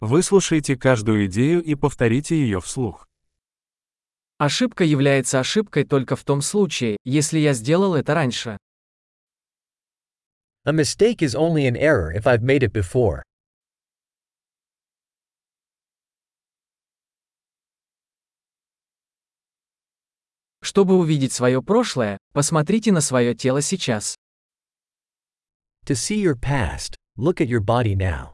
Выслушайте каждую идею и повторите ее вслух. Ошибка является ошибкой только в том случае, если я сделал это раньше. A mistake is only an error if I've made it before. Чтобы увидеть свое прошлое, посмотрите на свое тело сейчас. To see your past, look at your body now.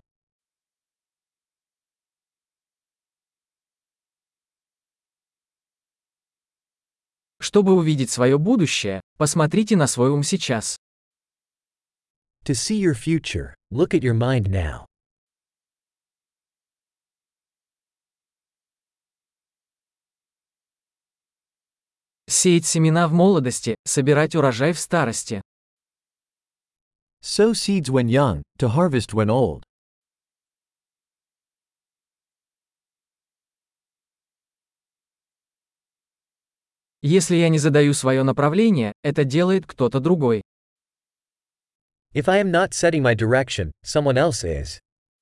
Чтобы увидеть свое будущее, посмотрите на свой ум сейчас. To see your future, look at your mind now. Сеять семена в молодости, собирать урожай в старости. Sow seeds when young, to harvest when old. Если я не задаю свое направление, это делает кто-то другой. If I am not setting my direction, someone else is.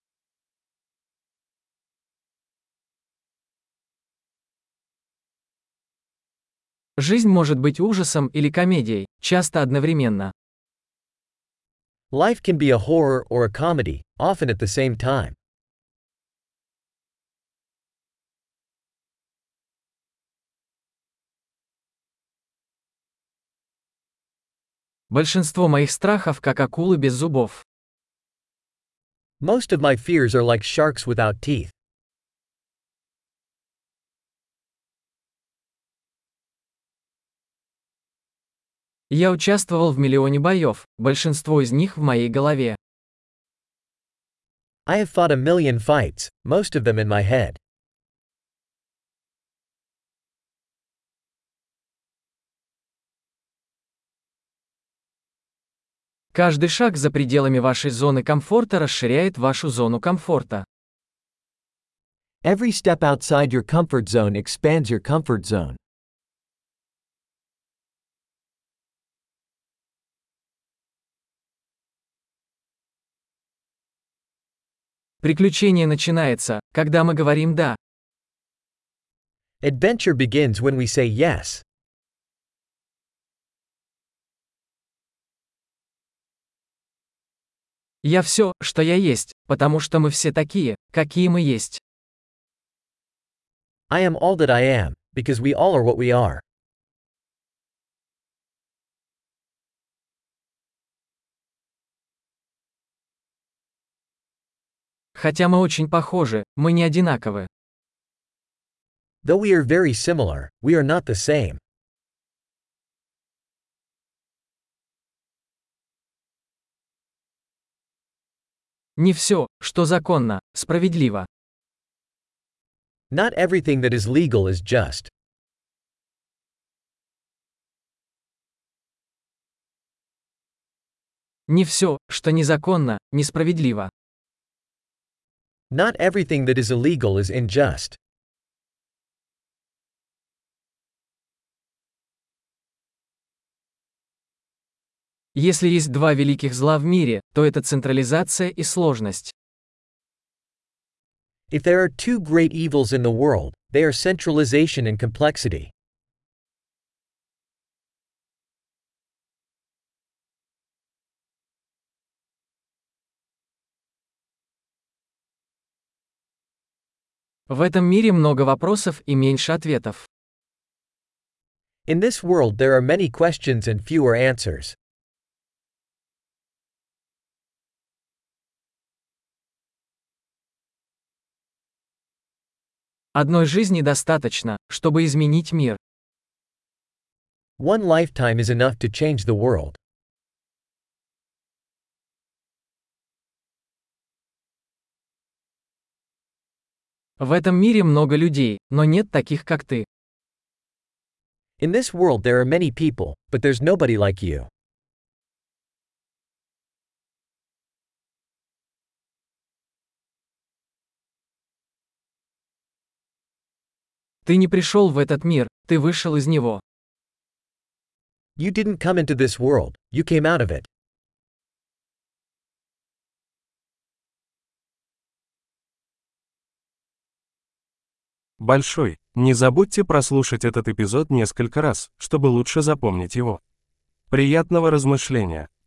Жизнь может быть ужасом или комедией, часто одновременно. Life can be a horror or a comedy, often at the same time. Большинство моих страхов как акулы без зубов. Most of my fears are like sharks without teeth. Я участвовал в миллионе боев, большинство из них в моей голове. I have fought a million fights, most of them in my head. Каждый шаг за пределами вашей зоны комфорта расширяет вашу зону комфорта. Every step outside your comfort zone expands your comfort zone. Приключение начинается, когда мы говорим «да». Adventure begins when we say yes. Я все, что я есть, потому что мы все такие, какие мы есть. I am all that I am, because we all are what we are. Хотя мы очень похожи, мы не одинаковы. Though we are very similar, we are not the same. Не все, что законно, справедливо. Not everything that is legal is just. Не все, что незаконно, несправедливо. Not everything that is illegal is unjust. Если есть два великих зла в мире, то это централизация и сложность. If there are two great evils in the world, they are centralization and complexity. В этом мире много вопросов и меньше ответов. In this world there are many questions and fewer answers. Одной жизни достаточно, чтобы изменить мир. One lifetime is enough to change the world. В этом мире много людей, но нет таких, как ты. In this world there are many people, but there's nobody like you. Ты не пришел в этот мир, ты вышел из него. You didn't come into this world, you came out of it. Большой. Не забудьте прослушать этот эпизод несколько раз, чтобы лучше запомнить его. Приятного размышления!